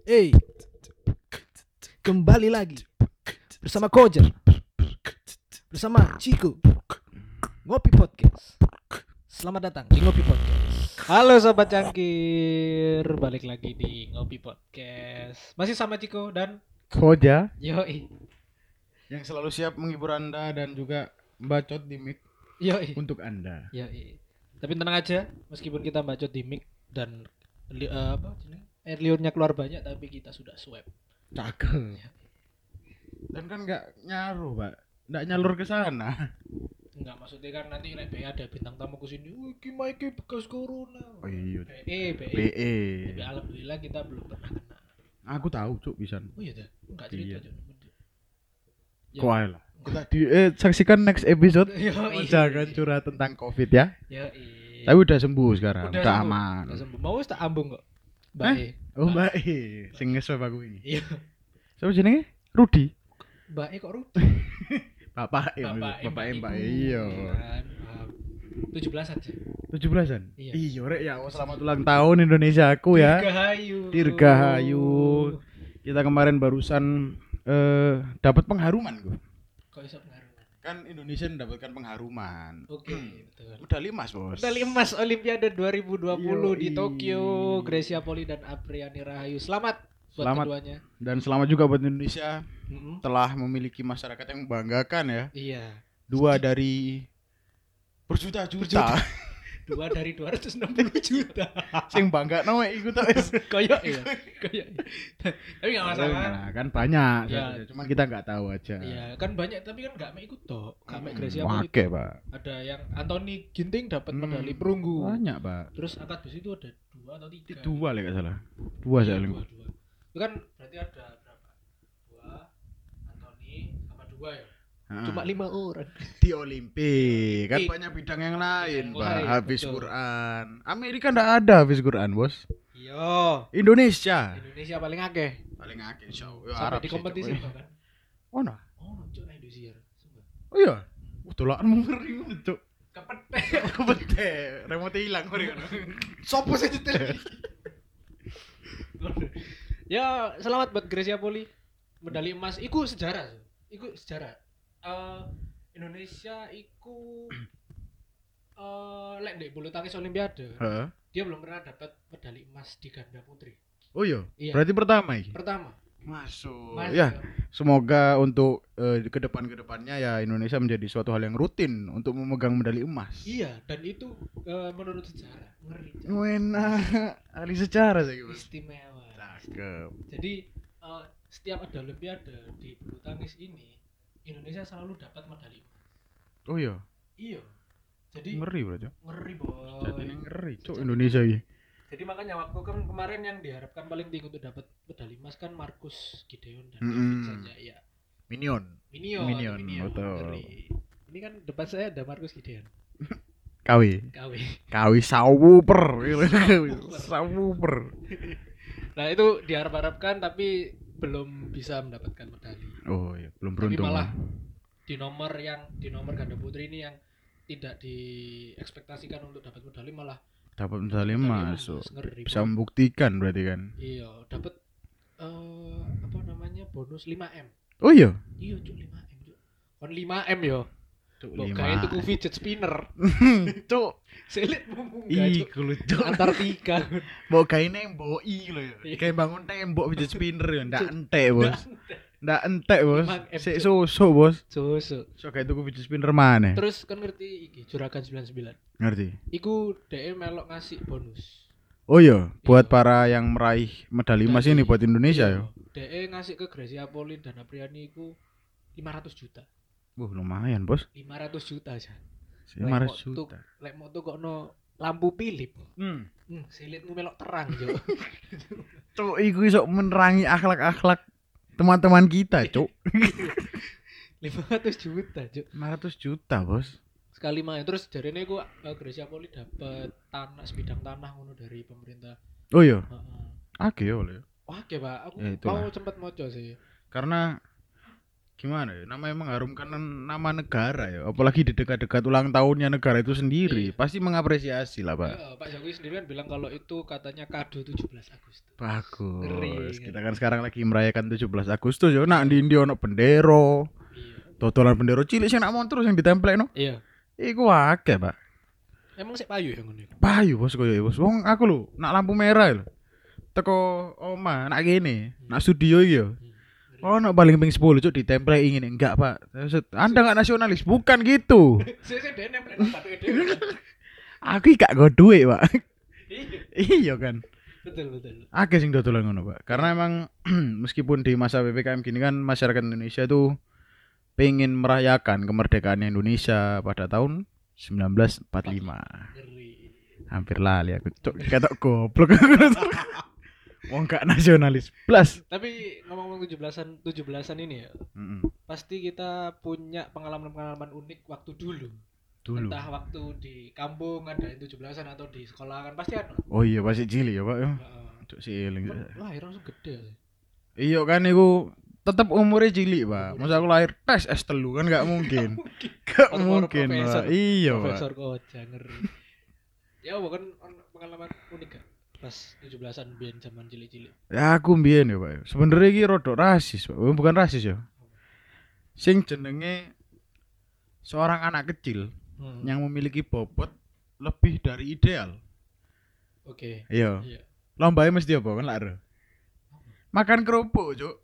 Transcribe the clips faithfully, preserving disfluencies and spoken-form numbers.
Hey, kembali lagi bersama Kojar, bersama Chico, Ngopi Podcast. Selamat datang di Ngopi Podcast. Halo sobat cangkir, balik lagi di Ngopi Podcast. Masih sama Ciko dan Koja Yoi. yang selalu siap menghibur Anda dan juga bacot di mic Yoi. untuk Anda. Yoi. Tapi tenang aja, meskipun kita bacot di mic dan li, uh, apa jenis air liurnya keluar banyak, tapi kita sudah swab. Cakep. Dan kan nggak nyaruh, Pak. Nggak nyalur ke sana. Enggak, maksudnya kan nanti nek B E ada bintang tamu ke sini. Wih, ki Mike bekas corona. Oh iya. B E, B E. B E. Tapi alhamdulillah kita belum pernah kena. Aku tahu, Cuk, bisa. Oh iya dah. Enggak cerita Iya. aja. Ya. Kok ae lah. Kita di eh, saksikan next episode. Yoi. Jangan curhat tentang Covid ya. Yoi. Tapi udah sembuh sekarang, udah, sembuh. aman. Udah sembuh. Mau wis tak ambung kok. Mbak Hah? E. Oh, Mbak E, sing nge-swab aku ini. Iya. Siapa jenenge? Rudi. Mbak E kok Rudy? Bapak E, Bapak E, Bapak E, Mbak E. Ibu. Iya. Kan, paham. tujuh belasan sih. tujuh belasan? Iya. Iya, rek ya. Oh, selamat ulang tahun Indonesia aku ya. Dirgahayu. Dirgahayu. Kita kemarin barusan eh dapat pengharuman gue. Kok iso pengaruhan? Kan Indonesia mendapatkan pengharuman. Oke, betul. Medali emas, Bos. Medali emas Olimpiade dua ribu dua puluh di Yoi. Tokyo, Gracia Poli dan Apriani Rahayu. Selamat buat Selamat. keduanya. Dan selamat juga buat Indonesia Mm-mm. telah memiliki masyarakat yang membanggakan ya. Iya. Dua dari berjuta-juta Dua dari dua ratus enam puluh juta. sing bangga no iku tok wis. Koyok ya. Koyok. Tapi enggak masalah. Nah, kan banyak, Ya. cuma kita nggak tahu aja. Iya, kan banyak tapi kan enggak mek ikut toh. Enggak mek Gracia Poli. Wake, Pak. Ada yang Anthony Ginting dapat Hmm, medali perunggu. Banyak, Pak. Terus angkat besi itu ada dua atau tiga? Dua lah nggak salah. Dua Iya, saya dua, dua. Itu kan berarti ada berapa? Dua, Anthony sama dua ya. Cuma lima orang. di Olimpik kan Olimpik. banyak bidang yang lain, Yang Pak. lain, Habis betul. Quran. Amerika ndak ada habis Quran, Bos. Iya. Indonesia Indonesia paling akeh. paling akeh insyaallah. Ya, Sampai Arab di sih, kompetisi Cok. bahkan. Oh, nah. Oh, cok nah Indonesia. Sumpah. Oh iya. Uh, tolakan ngeri cuk. Kepethek. Kebete, remote hilang ngeri kan. Sopo sih nyetel? Ya, selamat buat Gracia Poli. Medali emas iku sejarah. so. Iku sejarah. Eh Indonesia iku eh lek ndek bulu tangkis olimpiade, Heeh. dia belum pernah dapat medali emas di ganda putri. Oh iya. Iya. Berarti pertama iki. Pertama. Masuk. Mas, Ya, semoga untuk eh, ke depan-kedepannya ya Indonesia menjadi suatu hal yang rutin untuk memegang medali emas. Iya, dan itu eh, menurut sejarah ngeri. Cak. Enak, ahli sejarah saya Bos. Istimewa. Cakep. Jadi eh, setiap ada olimpiade di bulu tangkis ini Indonesia selalu dapat medali emas. Oh iya. Iya. Jadi Ngeri berarti. ngeri boy. Jadi ngeri, cuk Indonesia iki. Jadi makanya waktu kan kemarin yang diharapkan paling tinggi untuk dapat medali emas kan Markus Gideon dan Mm-mm. Kevin Sanjaya. Minion. Minion, Minion, betul. ngeri. Ini kan depan saya ada Markus Gideon. K W. K W. K W Sawuper. Sawuper. Nah itu diharap-harapkan tapi belum bisa mendapatkan medali. Oh iya, belum Tapi beruntung. malah lah. di nomor yang di nomor ganda putri ini yang tidak diekspektasikan untuk dapat medali malah Dapat medali medali emas. oh. ngeri. Bisa Boy. membuktikan berarti kan. Iya, dapat eh apa namanya bonus lima M. Oh iya. Iya, cuk lima M, cuk. Kon lima M yo. Cuk Kok kayak tuku fidget spinner. Cuk. Selit munggah, Ih, cuk. kulo cuk. Antartika. Mbok gawe nembok iki lho ya. Iya. Kayak bangun tembok fidget spinner ya, ndak Cuk. entek, Bos. Ndak entek, Bos. Emang M, Sik Cuk. susu, Bos. Susu. So kayak tuku fidget spinner mana? Terus kan ngerti iki Juragan sembilan sembilan. Ngerti? Iku dhek melok ngasih bonus. Oh iya, buat Iya. para yang meraih medali emas Medali. ini buat Indonesia ya. Dhek ngasih ke Gracia Poli dan Apriani iku lima ratus juta. Wah, lumayan, Bos. lima ratus juta aja. lima ratus Lek mo- juta. tu- Lek mau tuh kok no lampu Philip. Hmm. Hmm, silitmu melok terang, Cuk. Cuk, iku iso menerangi akhlak-akhlak teman-teman kita, Cuk. lima ratus juta, Cuk. lima ratus juta, Bos. Sekali main terus jarene ku uh, Gracia Poli dapat tanah sebidang tanah ngono dari pemerintah. Oh iya, Heeh. akeh ya oleh. Wah, oke, Pak. Aku Ya, itulah. mau sempat moco sih. Karena gimana ya? Namanya mengharumkan nama negara ya. Apalagi di dekat-dekat ulang tahunnya negara itu sendiri, Iya. pasti mengapresiasi lah, Pak. Ya, Pak Jokowi sendiri kan bilang kalau itu katanya kado tujuh belas Agustus. Bagus. Ngeri, Kita ngeri. kan sekarang lagi merayakan tujuh belas Agustus yo. Nak di India ono bendera. Iya. Totolan bendera cilik sing nak montor sing ditempelno. Iya. Iku akeh, Pak. Emang sik payu ya ngono iku. Payu bos koyo bos. Wong aku lho, nak lampu merah lho. Teko oma, nak kene, nak studio iki yo. Oh, nak paling ping sepuluh cuk ditempel ingin enggak, Pak. Anda enggak nasionalis, bukan gitu. Sik sik dene nempel bathuke dhewe. Aku iki gak go duit, Pak. Iya. Iya kan. Betul betul. Akeh sing dodolan ngono, Pak. Karena emang meskipun di masa P P K M gini kan masyarakat Indonesia tuh pengen merayakan kemerdekaan Indonesia pada tahun seribu sembilan ratus empat puluh lima. Ngeri. Hampir lali aku. Cuk, ketok goblok. Wong gak nasionalis plus. Tapi ngomong-ngomong tujuh belasan tujuh belasan ini ya, Mm-mm. pasti kita punya pengalaman-pengalaman unik waktu dulu. Dulu. Entah waktu di kampung ada yang tujuh belasan atau di sekolah kan pasti ada. Oh iya masih cilik ya, Pak. Ya. Heeh. Cuk siling. Lahir langsung gede sih. Iya kan iku tetep umurnya cilik, Pak. Masa aku lahir tes S telu kan gak mungkin. Gak Orang-orang mungkin, profesor. Pak. Iya, Pak. Profesor Koja ngeri. Ya bukan pengalaman unik gak? Pas tujuh belasan biyen zaman cilik-cilik. Ya aku mbiyen ya, Pak. Sebenarnya iki rodok rasis, Pak. Oh, bukan rasis ya. Sing jenenge seorang anak kecil Hmm. yang memiliki bobot lebih dari ideal. Oke. Iya. Iya. Lombanya mesti apa kan lak? Makan kerupuk, Cuk.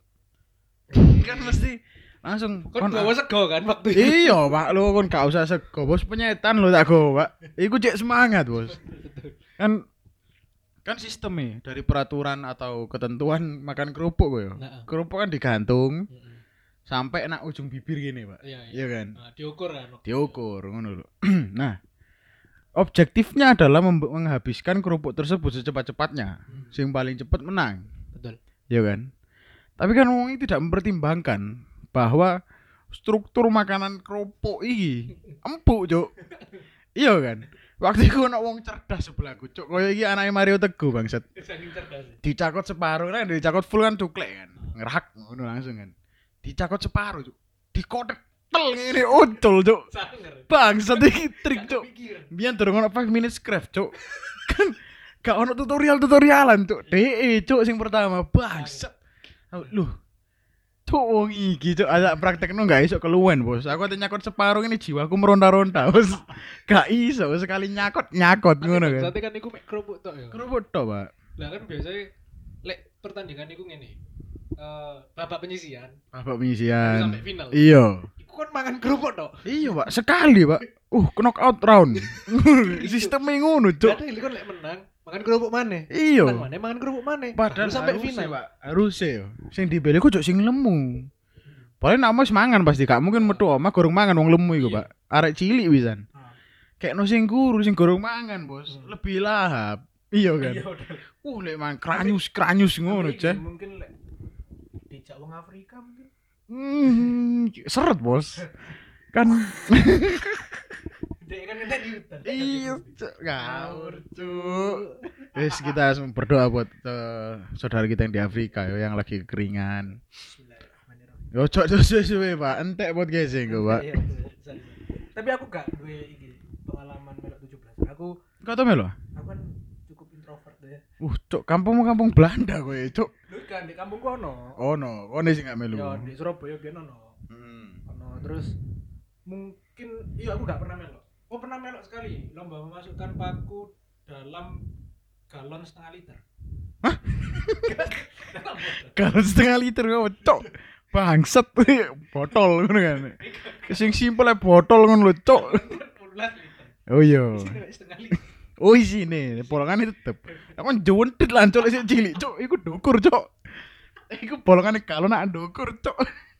Kan mesti langsung Kon gawe sego kan waktu itu. Iya, Pak, lu kon gak usah sego, Bos. Penyetan lo tak go, Pak. Iku cek semangat, Bos. Kan kan sistemnya dari peraturan atau ketentuan makan kerupuk gue ya. Nah, Kerupuk kan digantung heeh. sampai nak ujung bibir gini, Pak. Iya, Iya kan? Nah, diukur kan. waktu itu. Diukur ngono lho. Nah, objektifnya adalah mem- menghabiskan kerupuk tersebut secepat-cepatnya. Hmm. Sing paling cepat menang. Betul. Iya kan? Tapi kan wong ini tidak mempertimbangkan bahwa struktur makanan kerupuk iki empuk, Cuk. Iya kan? Waktu itu ana wong cerdas sebelahku, Cuk. Kaya iki anake Mario Teguh, bangsat. Saking cerdas. Dicakot separuh kan, dicakot full kan cuklek kan. Ngerak ngono langsung kan. Dicakot separuh, Cuk. Dikotek tel ngene ucul, Cuk. Sanger. Bangsat iki trik, Cuk. Kepikiran. Biyen durung ono five minutes craft, Cuk. Kan gak ono tutorial-tutorialan, Cuk. D E, Cuk, sing pertama. Bangsat. Loh. Cuk wong iki, Cuk, ada praktekno gak iso keluwen, Bos. Aku ate nyakot separuh ini jiwaku meronta-ronta, Bos. Gak iso sekali nyakot, nyakot ngono kan. Berarti kan iku mek kerupuk tok ya. Kerupuk tok, Pak. Lah kan biasanya lek pertandingan iku ngene. Eh babak penyisian Babak penyisian. sampai final. Iya. Iku kan mangan kerupuk tok. Iya, Pak. Sekali, Pak. Uh, knockout round. Sistemnya ngono, Cuk. Jadi kan lek menang makan kerupuk maneh. Iya. Menang maneh mangan kerupuk maneh. Padahal Baru sampai harusnya, final. Pak. Harusnya yo. Sing dibeli ku cuk sing lemu. Paling nak wis mangan pasti gak mungkin metu omah gorong mangan wong lemu iku, Iya. Pak. Arek cilik pisan. Ah. Kayak no sing guru sing gorong mangan, Bos. Hmm. Lebih lahap. Iya kan. Iya udah. Uh, lek mang kranyus-kranyus ngono, Tapi Cah. mungkin lek dijak wong Afrika mungkin. Hmm, seret, Bos. Kan Dek kan ngentek di hutan. iya, Cuk. Ngawur, Cuk. Wes kita berdoa buat eh, saudara kita yang di Afrika yo yang lagi kekeringan. Bismillahirrahmanirrahim. Yo cok suwe-suwe, Pak. Entek podcast engko, Pak. Iya, iya, sorry, sorry. Tapi aku gak duwe iki pengalaman melok tujuh belas. Aku Kau tau melo? aku kan cukup introvert ya. Uh, cok, kampungmu kampung Belanda kowe, cok. Lu kan di kampungku ono. Oh no, kono sing gak melu. Ya di Surabaya biyen ono. Hmm. Ono terus mungkin iya aku gak pernah melok. Oh pernah melok sekali lomba memasukkan paku dalam galon setengah liter. Hah? Dalam botol. Kalau setengah liter kau, cok. Bangsat botol ngono kan. Sing simpel ae botol ngono lho, cok. sepuluh liter. Oh iya. Isinya setengah liter. Oh isine, bolongane tetep. Aku jontet lah cok sik cilik, cok. Iku dukur, cok. Iku bolongane kalau nak dukur, cok.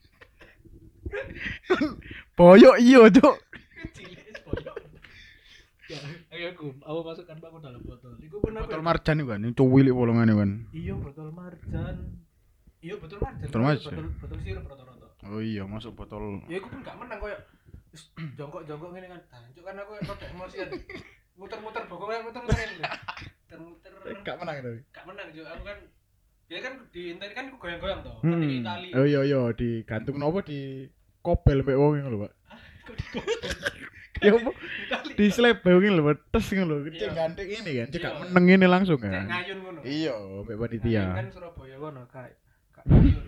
Boyok iya, cok. Cilik es boyok. Ya, ayo aku, aku masukkan paku dalam botol. Iku pun apa? Botol marjan iku kan, cuwilik bolongane kan. Iya, botol marjan. Iya, botol marjan. Botol marjan. Botol, botol sirup rata-rata. Oh iya, masuk botol. Ya aku pun gak menang koyo wis jongkok-jongkok ngene kan. Tancuk kan aku rada emosian. Muter-muter pokoknya muter-muter ngene. Muter-muter. Gak menang tapi. Gak menang juga aku kan Dia kan di internet kan goyang-goyang toh. Hmm. Kan di Itali. Oh iya iya digantung nopo di kopel mek wong ngono lho, Pak. Kok di goyang? Ya apa? Itali. Di slap ngono lho, tes ngono lho. Cek Iya. gantek ini kan, cek Iya. gak meneng ini langsung Cek kan. ngayun ngono. Iya, mek Ngayun panitia. kan Surabaya kono kae. Kak ngayun.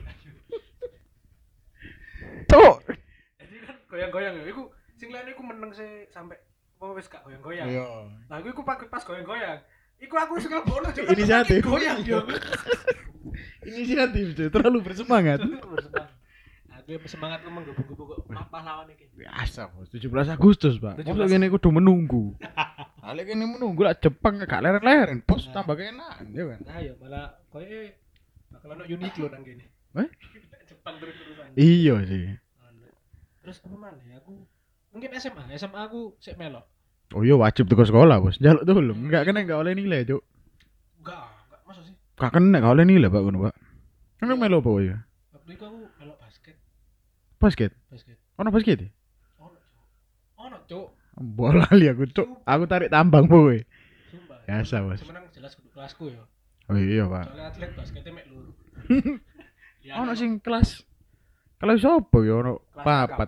Cuk. Jadi kan goyang-goyang ya. Iku sing liyane iku meneng sih sampai apa wis gak goyang-goyang. Iya. Nah, iku iku pas pas goyang-goyang. Iku aku wis kelebono Cuk. Inisiatif. Goyang yo. Inisiatif, Cuk. Terlalu bersemangat. Bersemangat. Aku semangat ngomong gubuk-gubuk kok pahlawan iki. Biasa, Bos. tujuh belas Agustus, Pak. tujuh Masa belas. kene kudu menunggu. Ale kene menunggu lah Jepang gak leren-leren, Bos Nah. tambah keenakan ya kan. Nah, ya malah koyo bakal ono Uniqlo nang kene. Eh? Jepang terus-terusan. Iya sih. Terus apa mana ya aku mungkin S M A, S M A aku sik melok. Oh iya wajib tuh ke sekolah, Bos. Jaluk tuh lho. Enggak kena enggak oleh nilai, Cuk. Enggak, enggak masuk sih. Gak kena enggak oleh nilai, Pak, ngono, Pak. Kan melo apa ya? Waktu itu aku melok basket, Basket. basket. Ono basket ya? Ono, Cuk. Ono, Cuk. Bola li aku, Cuk. Aku tarik tambang, boy. Sumpah. Biasa, Bos. Semenang jelas kudu kelasku ya. Oh iya, Pak. Soalnya atlet basketnya mek loro. Ya, Ono sing kelas kelas sopo ya ono Kelas papat.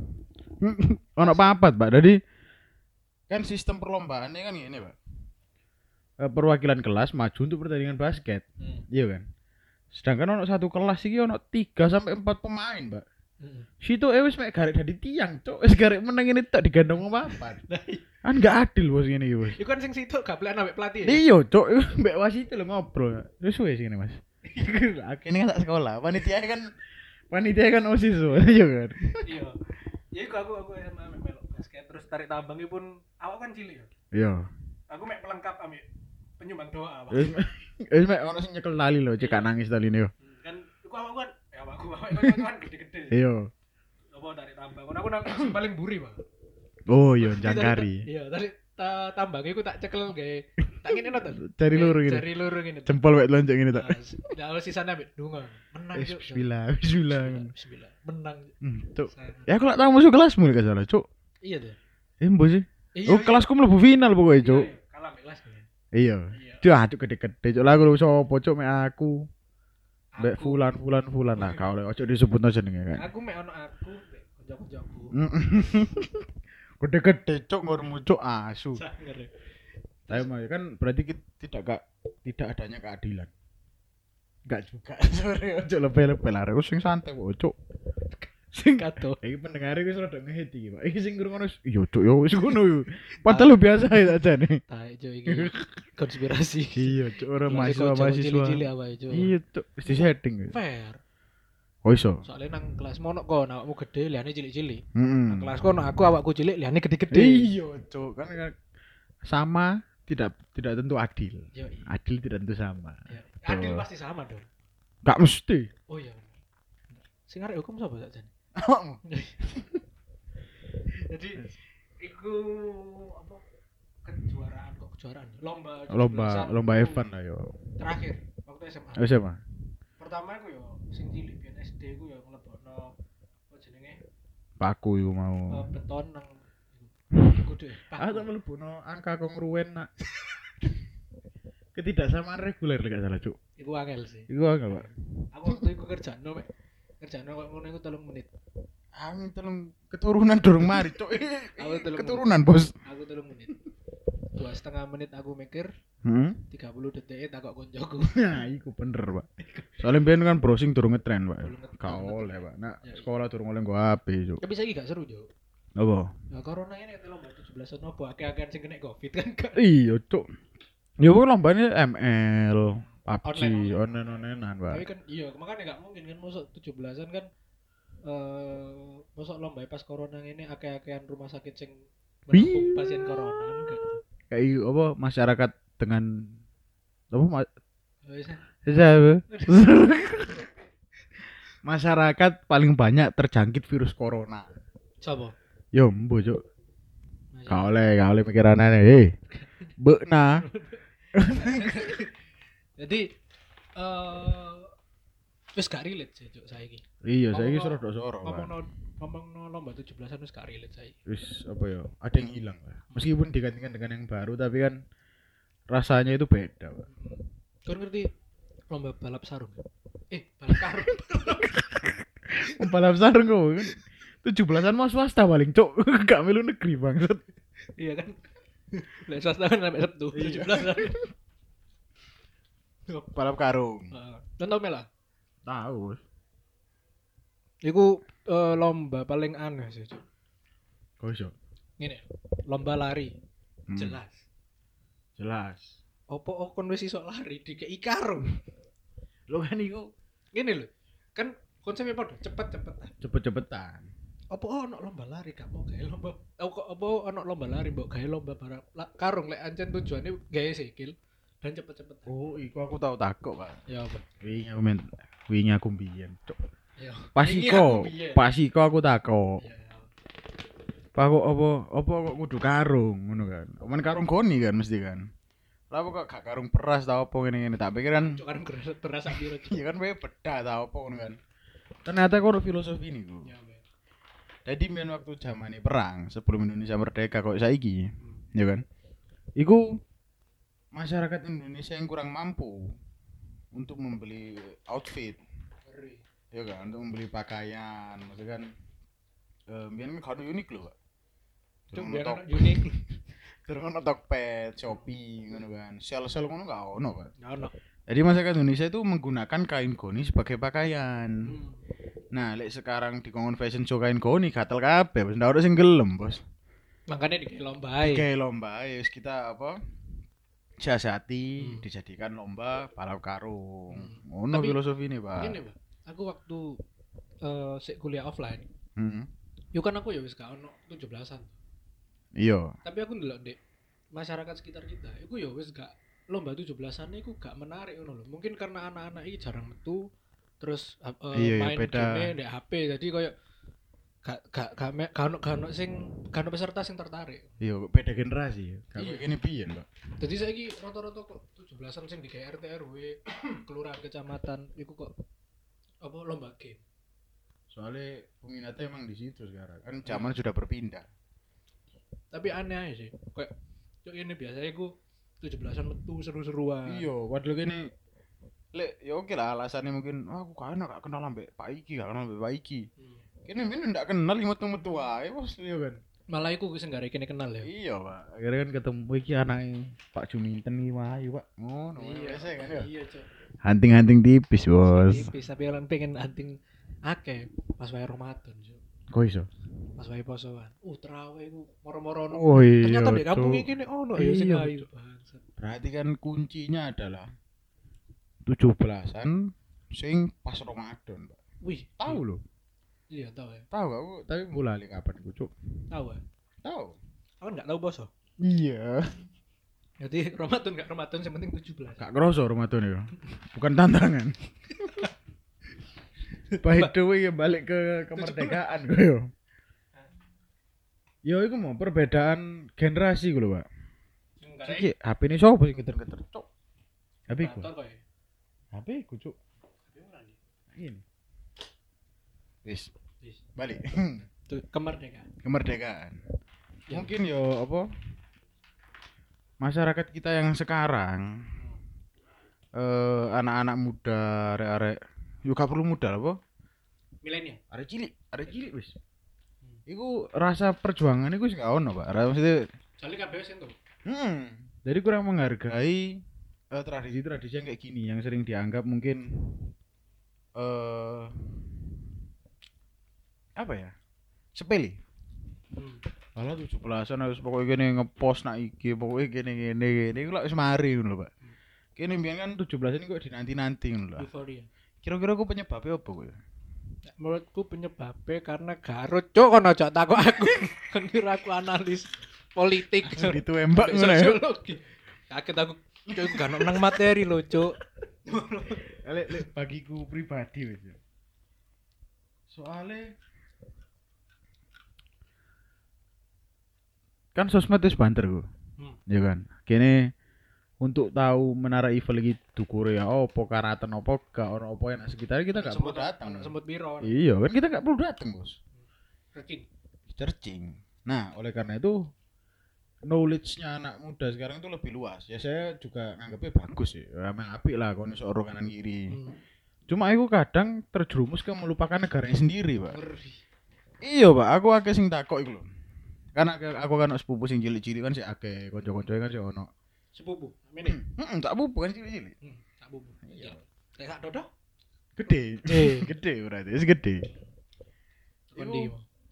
Ono papat, Pak. Jadi kan sistem perlombaannya kan ini, Pak. Eh, perwakilan kelas maju untuk pertandingan basket. Hmm. Iya kan? Sedangkan ono satu kelas iki ono tiga sampai empat pemain, Pak. Heeh. Situ eh wis mek garek dadi tiang, Cuk. Wis garek meneng ini tok digandong wong papat. Kan gak adil, Bos, ngene iki, Bos. Iku kan sing situ gak boleh ambek pelatih. Ya? Iya, Cuk. Mbak wasit lho ngobrol. Wis wis ngene, Mas. Akhirnya kan tak sekolah. Panitia kan panitia kan OSIS, Bos. Iya kan? Iya. Ya iku aku aku S M A mek melok basket terus tarik tambang iki pun awak kan cilik ya. Iya. Aku mek pelengkap ambek penyumbang doa, Pak. Wis wis mek ono sing nyekel tali lho, cek gak nangis taline yo. Hmm, kan iku awak kan ya awakku awak kan kan gede-gede. Iya. Apa tarik tambang. Kan aku nang sing paling buri, Pak. Oh iya, jangkari. Iya, tarik ta, tambang iku tak cekel gawe tak ngene no to. Cari loro gini. Cari loro ngene. Jempol wek lonjok ngene tok. Nah, nah sisane ambek dungo. Menang Eh, Cuk. bismillah, bismillah. Bismillah. Menang. Hmm, Cuk. Sangat. Ya aku lak tau musuh kelasmu gak salah, Cuk. Iya tuh. Eh, mbok sih. Iya, Oh, iya. kelasku mlebu final pokoknya, Iya, Cuk. iya. Kalah ambek kelas nih. Iya. Iya. Cuk, ah, Cuk gede-gede. Cuk, lah aku lho sopo, Cuk, mek aku. Mbek Aku- fulan fulan fulan lah, kau lho ojo disebutno jenenge kae. Aku mek ono aku mek kanca-kancaku. Gede-gede, Cuk, ngurmu, Cuk, asu. Sangar. ya. Tapi mah kan berarti kita tidak gak, tidak adanya keadilan. Enggak juga. Sorry, ojo lebih-lebih lah. Aku sing santai kok, Cuk. Sing Kato. iki pendengar iki rada ngehet iki, Pak. Iki sing ngrungokno iya, Cuk, yo wis ngono yo. Padahal lu biasa ya aja nih. Tai jo iki konspirasi. Iya, Cuk, ora Lagi mahasiswa kocok mahasiswa. cilik-cilik apa itu. Iya, Cuk, wis di setting. Fair. Oh iso. Soalnya nang kelas mono kon awakmu gede, liane cilik-cilik. Heeh. Nang kelas kono aku awakku cilik, liane gede-gede. Iya, Cuk, kan kan sama tidak tidak tentu adil. Yo, iya. Adil tidak tentu sama. Iya. Adil Tuh. pasti sama dong. Gak mesti. Oh iya. Sing arek hukum sapa sak jan? Jadi iku apa kejuaraan kok kejuaraan lomba Lomba tujuh belasan lomba aku event lah yo. terakhir waktu S M A. Wis apa? Pertama aku yo sing cilik biyen S D ku yo nglebokno apa jenenge Paku iku eh, mau. beton nang iku deh. Ah, tak mlebuno angka kongruwen nak. Ketidaksamaan reguler lek gak salah, Cuk. Iku angel sih. Iku angel, Pak. Aku waktu iku kerjano mek kerjano kok ngono iku telung menit. Angin telung keturunan durung mari, Cuk. Aku telung Keturunan, Bos. Aku telung menit. Dua setengah menit aku mikir, Hmm. tiga puluh detik takok koncoku. Nah, iku bener, Pak. Soalnya biyen kan browsing durung ngetren, Pak. Durung ngetren. Gak oleh, Pak. Nak Ya, iya. sekolah durung oleh nggo H P, Cuk. Tapi saiki gak seru, Jo. Apa? Nah, corona ini itu lomba tujuh belasan opo akeh-akehan sing kena Covid kan gak. Iya, Cuk. Ya pokoknya lombanya M L, P U B G, Online, online-onlinean, Pak. Tapi kan iya, makanya gak mungkin kan mosok tujuh belasan kan eh mosok lomba pas corona ini akeh-akehan rumah sakit sing menampung Iya. pasien corona kan enggak. Kayak iku, apa masyarakat dengan apa ma- Wis. Siapa? Masyarakat paling banyak terjangkit virus corona. Sopo? Yo, mbo, Cuk. Gak oleh, gak oleh mikiran aneh. Hei. Bekna. Jadi eh wis gak relate sih, Cuk, saiki. Iya, saiki Ngomong- soro soro. Ngomongno ngomongno lomba tujuh belasan wis gak relate saiki. Wis apa ya? Ada yang hilang lah. Meskipun digantikan dengan yang baru tapi kan rasanya itu beda, Pak. Kau ngerti lomba balap sarung. Eh, balap karung. Balap sarung kok kan. tujuh belasan mau swasta paling, Cuk. Gak melu negeri bangsat. Iya kan. Lek swasta kan sampai Sabtu Iya. tujuh belas kan. Balap karung. Heeh. Contoh mela. Tahu. Iku eh, lomba paling aneh sih, Cuk. Kok iso? Ngene. Lomba lari. Hmm. Jelas. Jelas. Opo oh, kon wis iso lari dikei karung. Lo kan iku Ngene lho. Kan konsepnya padha cepet-cepetan. cepet-cepetan. Apa ono lomba lari gak mau gawe lomba oh, kok apa ono lomba lari mbok gawe lomba barang la, karung lek ancen tujuane gawe sikil dan cepet-cepet. Oh, iku aku tahu takok, Pak. Ya apa? Wingi aku men wingi aku mbiyen, Cuk. Ya. Pas Ini iko, aku biyen. pas iko aku takok. Ya, ya. Pak kok apa apa kok kudu karung ngono kan. Omen karung goni kan mesti kan. Lah kok gak karung beras ta apa ngene-ngene tak pikir kan Cuk karung beras beras sak piro. Cuk. iya kan wae beda ta apa ngono kan. Ternyata kok filosofi niku. Ya, Mbak. Jadi men waktu zamane perang sebelum Indonesia merdeka kok saiki, ya kan? Iku masyarakat Indonesia yang kurang mampu untuk membeli outfit, Ngeri. ya kan? Untuk membeli pakaian, maksudnya kan eh biyen kan kado unik lho, Pak. Cuk Terus biar ono ono unik. terus ono Tokped, Shopee ngono kan. Sel-sel ngono gak ono, Pak. Ya ono. Jadi masyarakat Indonesia itu menggunakan kain goni sebagai pakaian. Hmm. Nah, lek sekarang di kongon fashion show kain goni gatel kabeh, wis ndak ono sing gelem, Bos. Makanya dikei lomba ae. Kayak lomba ya wis kita apa? Siasati Hmm. dijadikan lomba balap karung. Hmm. Ngono Tapi- filosofi ini, Pak. Gini, Pak. Aku waktu eh sik kuliah offline, Hmm. yo kan aku ya wis gak ono tujuh belasan. Iya. Tapi aku ndelok Dek, masyarakat sekitar kita, iku ya wis gak lomba tujuh belasan iku gak menarik ngono lho. Mungkin karena anak-anak iki jarang metu terus uh, uh, Iya, iya, main beda. game ndek H P jadi koyo gak gak gak me- gak ono gak ono sing gak ono peserta sing tertarik. Iya, kok beda generasi ya. Kayak Iya. gini piyen, Pak. Jadi saiki rata-rata kok tujuh belasan sing di R T R W kelurahan kecamatan iku kok apa lomba game. Soalnya peminatnya emang di situ sekarang. Kan zaman sudah berpindah. Tapi aneh aja sih. Kayak cuk ini biasanya iku tujuh belasan metu seru-seruan. Iya, padahal gini lek ya oke lah alasannya mungkin oh, aku kan gak kenal ambek Pak Iki, gak kenal ambek Pak Iki. Hmm. Kene men ndak kenal metu-metu wae, Bos, iya kan. Malah iku sing gak rekene kenal ya. Iya, Pak. Akhirnya kan ketemu iki anake Pak Juminten iki wae, Pak. Ngono, biasa kan ya. Iya, Cuk. Hunting-hunting tipis, Bos. Tipis tapi orang pengen hunting akeh pas wae Ramadan, Cuk. Kok iso? Pas wae posoan. Uh, terawih iku moro-moro ono. Oh iya. Ternyata di kampung Cuk. iki nih ono ya sing Iya, ayu. Bangsat. Berarti kan kuncinya adalah tujuh belasan sing pas Ramadan, Pak. Wih, Tahu loh. Iya, tahu ya. Tahu aku, tapi mulai kapan iku, Cuk? Tahu ya. Tahu. Aku enggak tahu poso. Iya. Jadi Ramadan enggak Ramadan yang penting tujuh belas. Gak kroso Ramadan ya. Bukan tantangan. By the way ya balik ke kemerdekaan gue yo. Yo iku mau perbedaan generasi gue lho, Pak. Enggak Iki H P ini sopo sing geter-geter, Cuk? H P ku. kok ya. H P ku, Cuk. Ini. Wis, Wis. balik. Tuh kemerdekaan. Kemerdekaan. Ya. Mungkin yo apa? Masyarakat kita yang sekarang eh anak-anak muda, arek-arek yo gak perlu muda apa? Milenial. Arek cilik, arek cilik wis. Hmm. Iku rasa perjuangan iku wis gak ono, Pak. Rasa mesti Jali kabeh wis entuk. hmm. Jadi kurang menghargai eh, tradisi-tradisi yang kayak gini yang sering dianggap mungkin eh apa ya? Sepele. Hmm. Alah tujuh belasan harus pokoknya gini ngepost nak iki, pokoknya gini gini gini, iku lak wis mari ngono lho, Pak. Kene mbiyen kan tujuh belasan ini kok dinanti-nanti ngono lho. Euforia. Kira-kira aku penyebabnya apa kowe? Menurutku penyebabnya karena garut cuk kono aja takok aku. Kan kira aku analis politik. Ditembak ngono ya. Sosiologi. Kaget aku cuk gak ono nang materi lho cuk. Lek lek bagiku pribadi wis. Soale kan sosmed wis banter ku. Hmm. Ya kan. Kene untuk tahu Menara Eiffel iki dukure ya opo karatan opo gak ono opo yang sekitar kita gak perlu datang. Semut piro. Iya kan kita gak perlu datang, Bos. Searching. Searching. Nah, oleh karena itu knowledge-nya anak muda sekarang itu lebih luas. Ya saya juga nganggapnya bagus sih. Ya, emang apik lah kalau iso ora kanan kiri. Hmm. Cuma aku kadang terjerumus ke melupakan negaranya sendiri, Pak. Ngeri. Iya, Pak. Aku akeh sing takok iku lho. Karena aku aku kan sepupu sing cilik-cilik kan sih akeh, kanca-kancane kan sih ono. Sepupu. Mene. Heeh, tak pupu kan cilik-cilik. Hmm, sepupu. Iya. Lek sak dodo? Gede. Eh. Gede berarti, wis gede. Kondi.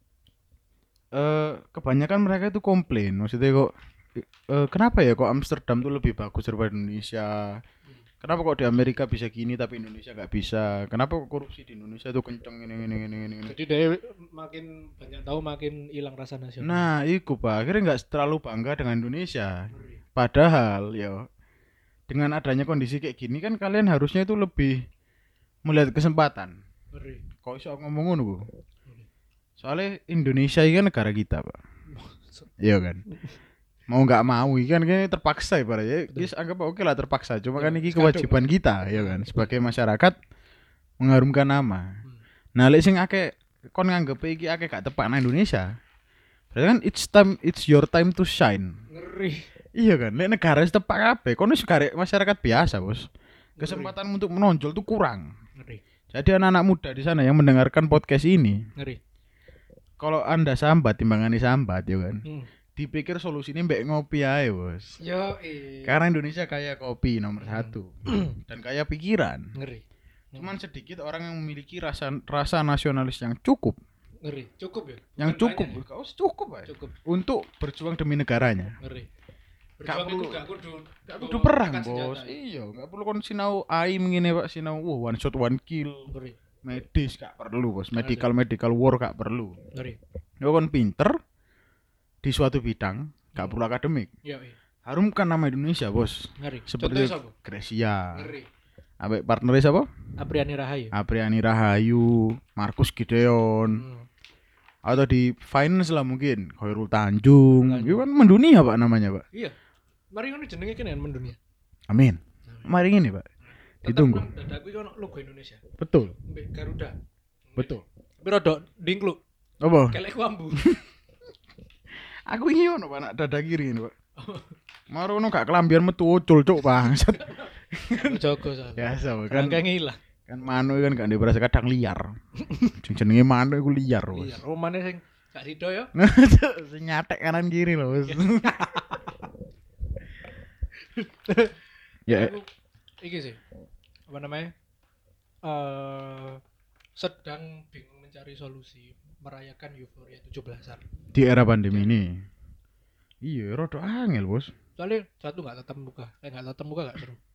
Eh kebanyakan mereka itu komplain, maksudnya kok eh, kenapa ya kok Amsterdam tuh lebih bagus daripada Indonesia? Kenapa kok di Amerika bisa gini tapi Indonesia nggak bisa? Kenapa kok korupsi di Indonesia tuh kenceng ini ini ini ini? Jadi dia makin banyak tahu makin hilang rasa nasional. Nah, iku Pak, akhirnya nggak terlalu bangga dengan Indonesia. Padahal ya dengan adanya kondisi kayak gini kan kalian harusnya itu lebih melihat kesempatan. Ngeri. Kok iso ngomong ngono ku? Soalnya Indonesia ini kan negara kita, Pak. Iya kan? Mau nggak mau ini kan kayaknya terpaksa ya, Pak. Ya, guys anggap oke lah terpaksa. Cuma kan ini kewajiban kita, ya kan, sebagai masyarakat mengharumkan nama. Nah, lek sing akeh kon nganggep iki akeh gak tepak nang Indonesia. Berarti kan it's time it's your time to shine. Ngeri. Iya kan? Lek negara wis tepak kabeh, kon wis karek masyarakat biasa, Bos. Kesempatan untuk menonjol tuh kurang. Ngeri. Jadi anak-anak muda di sana yang mendengarkan podcast ini, Ngeri. kalau Anda sambat timbangane sambat ya kan. Hmm. Dipikir solusinya mbek ngopi aja, Bos. Yo, eh. Karena Indonesia kaya kopi nomor satu dan kaya pikiran. Ngeri. Cuman sedikit orang yang memiliki rasa rasa nasionalis yang cukup, Ngeri. Cukup ya? yang Bukan cukup, banyak oh, cukup aja. ya? Cukup. untuk berjuang demi negaranya. Ngeri. Gak Berjuang perlu- itu gak kudu Gak bawa kudu perang, angkat Bos. senjata. Iya, gak perlu kon sinau aim ngene, Pak, sinau wah one shot one kill. Ngeri. Medis gak perlu, Bos. Medical medical war gak perlu. Ngeri. Yo kon pinter di suatu bidang, gak perlu akademik. Yo, eh. Harumkan nama Indonesia, Bos. Ngeri. Seperti Contohnya siapa? Gracia. Ngeri. Ambek partnernya siapa? Apriani Rahayu. Apriani Rahayu, Markus Gideon, Hmm. atau di finance lah mungkin Khairul Tanjung. Tanjung. Itu kan mendunia, Pak, namanya, Pak. Iya. Mari ngono jenenge kene mendunia. Amin. Mari ini, Pak. Ditunggu. Tetep nang dadaku iki ono logo Indonesia. Betul. Mbek Garuda. Betul. Tapi rodok dingkluk. Apa? Kelek wambu. Aku ini ono, Pak, nak dada kiri ini, Pak. Marono gak kelambian metu ucul, Cuk, bangsat. Jogo soalnya. Biasa, Pak, Kan kan. kayak ngilang. Kan manu kan gak berasa kadang liar. Sing jenenge manu iku liar, Bos. Iya, romane sing gak sido ya. Sing nyatek kanan kiri loh, Bos. Ya, Aku iki sih. Apa namanya? Eh sedang bingung mencari solusi merayakan euforia tujuh belasan. di era pandemi ini. Iya, rada angel, Bos. Soalnya satu nggak tatap muka, eh nggak tatap muka nggak seru.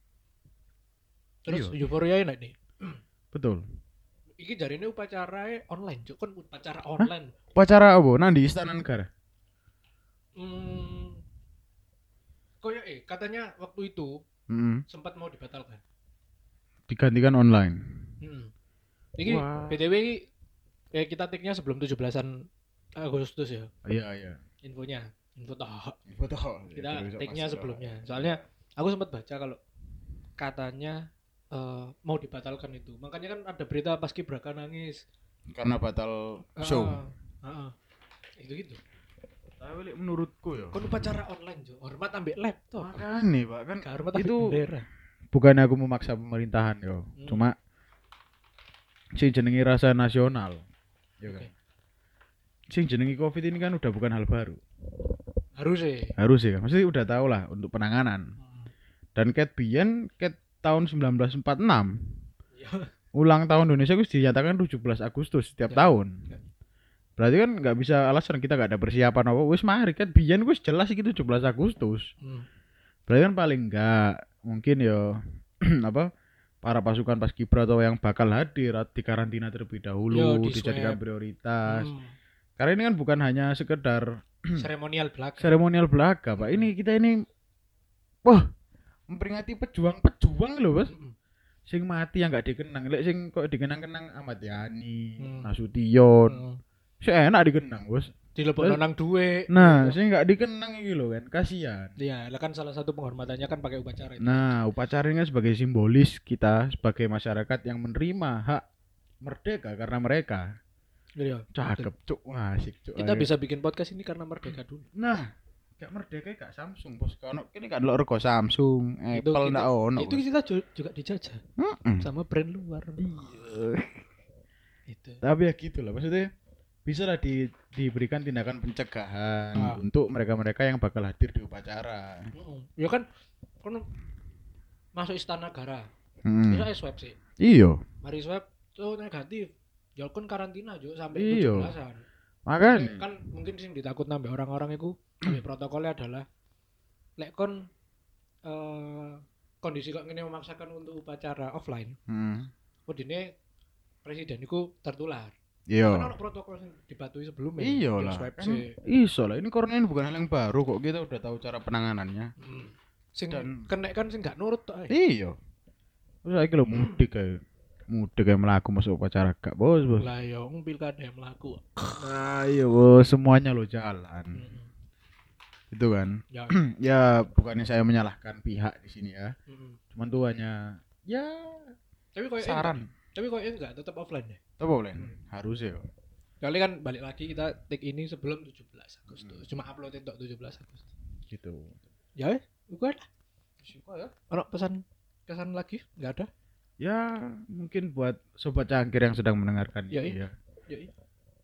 Terus Iya. euforia enak nih. Betul. Iki jari ini upacara online, cuk kan upacara online. Upacara apa? Nang di Istana Negara. Hmm. Koyo eh katanya waktu itu Heeh. sempat mau dibatalkan. Digantikan online. Hmm. Iki Wah. B T W iki eh kita take-nya sebelum tujuh belasan Agustus ya. Iya, iya. Infonya, info toh. Foto. Kita take-nya sebelumnya. Soalnya aku sempat baca kalau katanya eh, mau dibatalkan itu. Makanya kan ada berita Paskibraka nangis. Karena batal show. Heeh. Itu gitu. Tapi lek menurutku ya. Kon upacara online, Jo. Hormat ambek laptop. Makane, Pak, kan Gak hormat ambek itu bendera. bukannya aku memaksa pemerintahan yo. Hmm. Cuma sing jenenge rasa nasional. Ya kan. Oke. Sing jenenge Covid ini kan udah bukan hal baru. Harus sih. Harus ya, mesti udah tahu lah untuk penanganan. Hmm. Dan ket biyen ket tahun sembilan belas empat puluh enam Ya. ulang tahun Indonesia itu dinyatakan tujuh belas Agustus setiap Ya. tahun. Ya. Berarti kan nggak bisa alasan kita nggak ada persiapan apa. Wis mari kan biyen wis jelas iki tujuh belas Agustus. Hmm. Berarti kan paling enggak mungkin ya apa para pasukan paskibra atau yang bakal hadir di karantina terlebih dahulu, Yo, di dijadikan swab. prioritas. Hmm. Karena ini kan bukan hanya sekedar Seremonial belaka. seremonial belaka, Pak. Ini kita ini wah memperingati pejuang-pejuang loh, Bos. Hmm. Sing mati yang nggak dikenang. Lek sing kok dikenang-kenang Ahmad Yani, Hmm. Nasution. Hmm. Sing enak dikenang, Bos. Dilebokno nang duwe. Nah, sing nggak dikenang iki lho kan, kasihan. Iya, lah kan salah satu penghormatannya kan pakai upacara itu. Nah, upacara ini kan sebagai simbolis kita sebagai masyarakat yang menerima hak merdeka karena mereka. Iya. Cakep, cuk, asik, cuk. Kita Ayo. bisa bikin podcast ini karena merdeka dulu. Nah, gak merdeka gak Samsung bos. Kalau kini kan lo rego Samsung, Itu Apple kita- ndak ono. Itu kita ju- juga dijajah Mm-mm. sama brand luar. Iya. Itu. Tapi ya gitu lah maksudnya bisa lah di, diberikan tindakan pencegahan Ah. untuk mereka-mereka yang bakal hadir di upacara. Heeh. Ya kan kan masuk istana negara. Hmm. Bisa swab sih. Iya, Mari swab tuh negatif. Ya kan karantina juga sampai Iya. tujuh belasan. makanya. Kan mungkin sing ditakut nambah orang-orang itu nambah protokolnya adalah lek kon eh kondisi kok ngene memaksakan untuk upacara offline. Hmm. Kodine presiden itu tertular. Kan Iya. ono protokol sing dipatuhi sebelumnya. Iya Di lah. swab Kan sih. iso lah. Ini corona ini bukan hal yang baru kok. Kita udah tahu cara penanganannya. Hmm. Sing Dan- kena kan sing gak nurut tok. ae. Iya. Terus lagi lo mudik kayak mudik kayak melaku masuk upacara gak bos bos. Lah ya wong pilkada yang mlaku. Nah iya bos semuanya lo jalan. Hmm. Itu kan. Ya. Ya bukannya saya menyalahkan pihak di sini ya. Hmm. Cuman tuh hanya ya Tapi koyo saran. Tapi koyo enggak tetap offline deh. Apa boleh? Harus ya. Kali kan balik lagi kita take ini sebelum tujuh belas Agustus. Cuma upload itu tujuh belas Agustus. Gitu. Ya wes, bukan. Suka ya. Ono pesan kesan lagi? Enggak ada. Ya mungkin buat sobat cangkir yang sedang mendengarkan Ya, ini ya. Ya iya.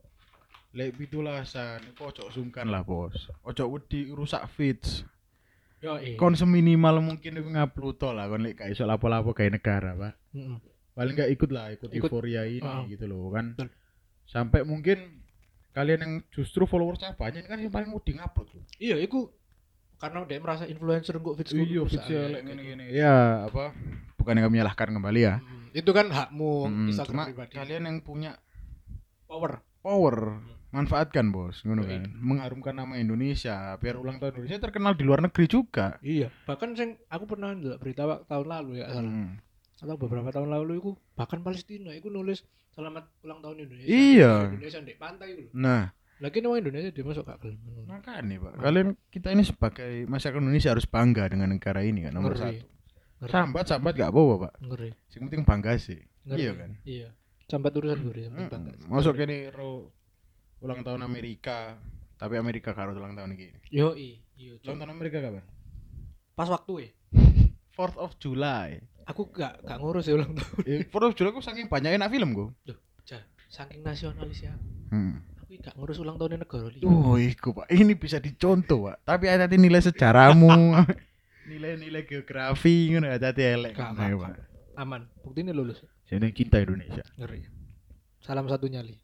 Lek pitulasan, kok ojo sungkan lah bos. Ojo wedi rusak feeds. Yo iya. Kon seminimal mungkin iku ngupload to lah kon lek gak iso lapo-lapo gawe negara, Pak. Heeh. Paling gak ikut lah, ikut, Ikut. euforia ini Ah. gitu loh kan. Betul. Sampai mungkin kalian yang justru followersnya banyak ini kan yang paling mau di ngupload. Iya, iku karena dia merasa influencer kok feeds Iya, feeds lek ngene-ngene. Ya, apa? Bukan yang menyalahkan kembali ya. Hmm, itu kan hakmu Hmm, Instagram cuma pribadi. kalian yang punya Power. power manfaatkan bos, ngono Yoi. kan. Mengharumkan nama Indonesia, biar ulang tahun Indonesia terkenal di luar negeri juga. Iya, bahkan sing aku pernah ndelok berita wak- tahun lalu ya salah. Hmm. Atau beberapa tahun lalu iku bahkan Palestina iku nulis selamat ulang tahun Indonesia. Iya. Indonesia ndek pantai iku lho. Nah, Lagi nama Indonesia dia masuk gak gelem. makanya Pak, kalian kita ini sebagai masyarakat Indonesia harus bangga dengan negara ini kan nomor Ngeri. satu. Ngeri. Sambat sambat gak apa-apa Pak. Ngeri. Yang penting bangga sih. Ngeri. Iya kan. Iya. Sampai urusan gue ya. Mm-mm. Masuk ini ro ulang tahun Amerika, tapi Amerika karo ulang tahun ini. Yo i, iya. Ulang tahun Amerika kapan? Pas waktu ya. fourth of July. Aku gak gak ngurus ya ulang tahun. Eh, fourth of July aku saking banyak enak film gue. Duh, jah, saking nasionalis ya. Hmm. Aku gak ngurus ulang tahun negara liya. Oh, iku Pak. Ini bisa dicontoh, Pak. Tapi hati-hati nilai sejarahmu. Nilai-nilai geografi ngono hati-hati elek. Gak Ayo, apa-apa. Pak. Aman. Buktinya lulus. Jadi cinta Indonesia. Ngeri. Salam satu nyali.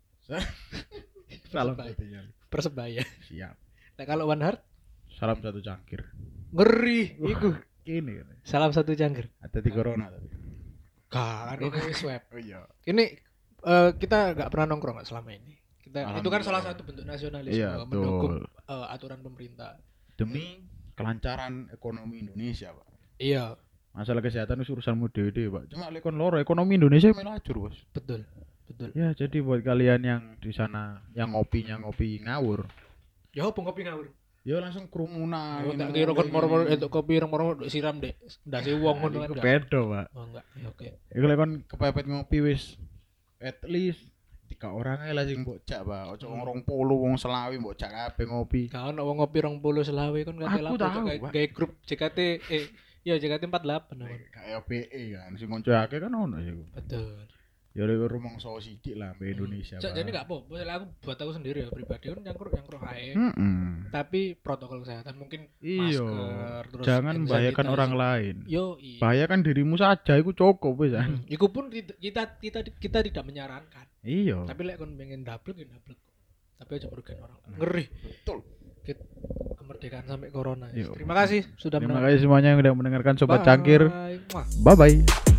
Salam Persebaya. satu nyali. Persebaya. Siap. Nah, kalau One Heart Salam satu cangkir. ngeri iku. Ini kan. Salam satu cangkir. Hati-hati corona tapi. Kan ini swab. Oh iya. Ini eh, kita nggak pernah nongkrong nggak selama ini. Kita itu kan Alhamdulillah. salah satu bentuk nasionalisme Iya, mendukung betul. eh, aturan pemerintah. Demi kelancaran ekonomi Indonesia, Pak. Iya, Masalah kesehatan itu urusanmu dewe Pak. Cuma lek kon loro ekonomi Indonesia melajur, Bos. betul. Betul. Ya, jadi buat kalian yang di sana yang ngopinya ngopi ngawur, Ya opo ngopi ngawur. ya langsung kerumunan. Oh, tak kira kon moro-moro itu kopi moro-moro siram dek. Ndase wong ngono kan. Itu ndak? beda, Pak. Oh enggak. Ya oke. Iku lek kon kepepet ngopi wis at least tiga orang ae lah sing mbok jak, Pak. Ojo wong rong puluh wong selawi mbok jak kabeh ngopi. Gak ono wong ngopi rong puluh selawe kon kate Aku lapo tahu, kayak Pak. kayak grup J K T eh ya J K T empat puluh delapan namanya. Kayak B E kan, sing konco akeh kan ono iku. Betul. Ya lek rumangsa sithik lah mbek Indonesia. Cak, Pak. jadi enggak apa-apa. Misalnya aku buat aku sendiri ya pribadi kan nyangkruk nyangkruk ae. Mm-mm. Tapi protokol kesehatan mungkin Iya. masker terus Jangan hand membahayakan sanitizer. orang lain. Yo iya. Bahayakan dirimu saja iku cukup wis. Hmm, Iku pun kita, kita kita kita tidak menyarankan. Iya. Tapi lek kon pengen double ya double. Tapi aja merugikan orang. Ngeri. Betul. Kita kemerdekaan sampai corona. Yo. Terima kasih sudah Terima mendengar. kasih semuanya yang sudah mendengarkan Sobat Bye. Cangkir. Mwah. Bye bye.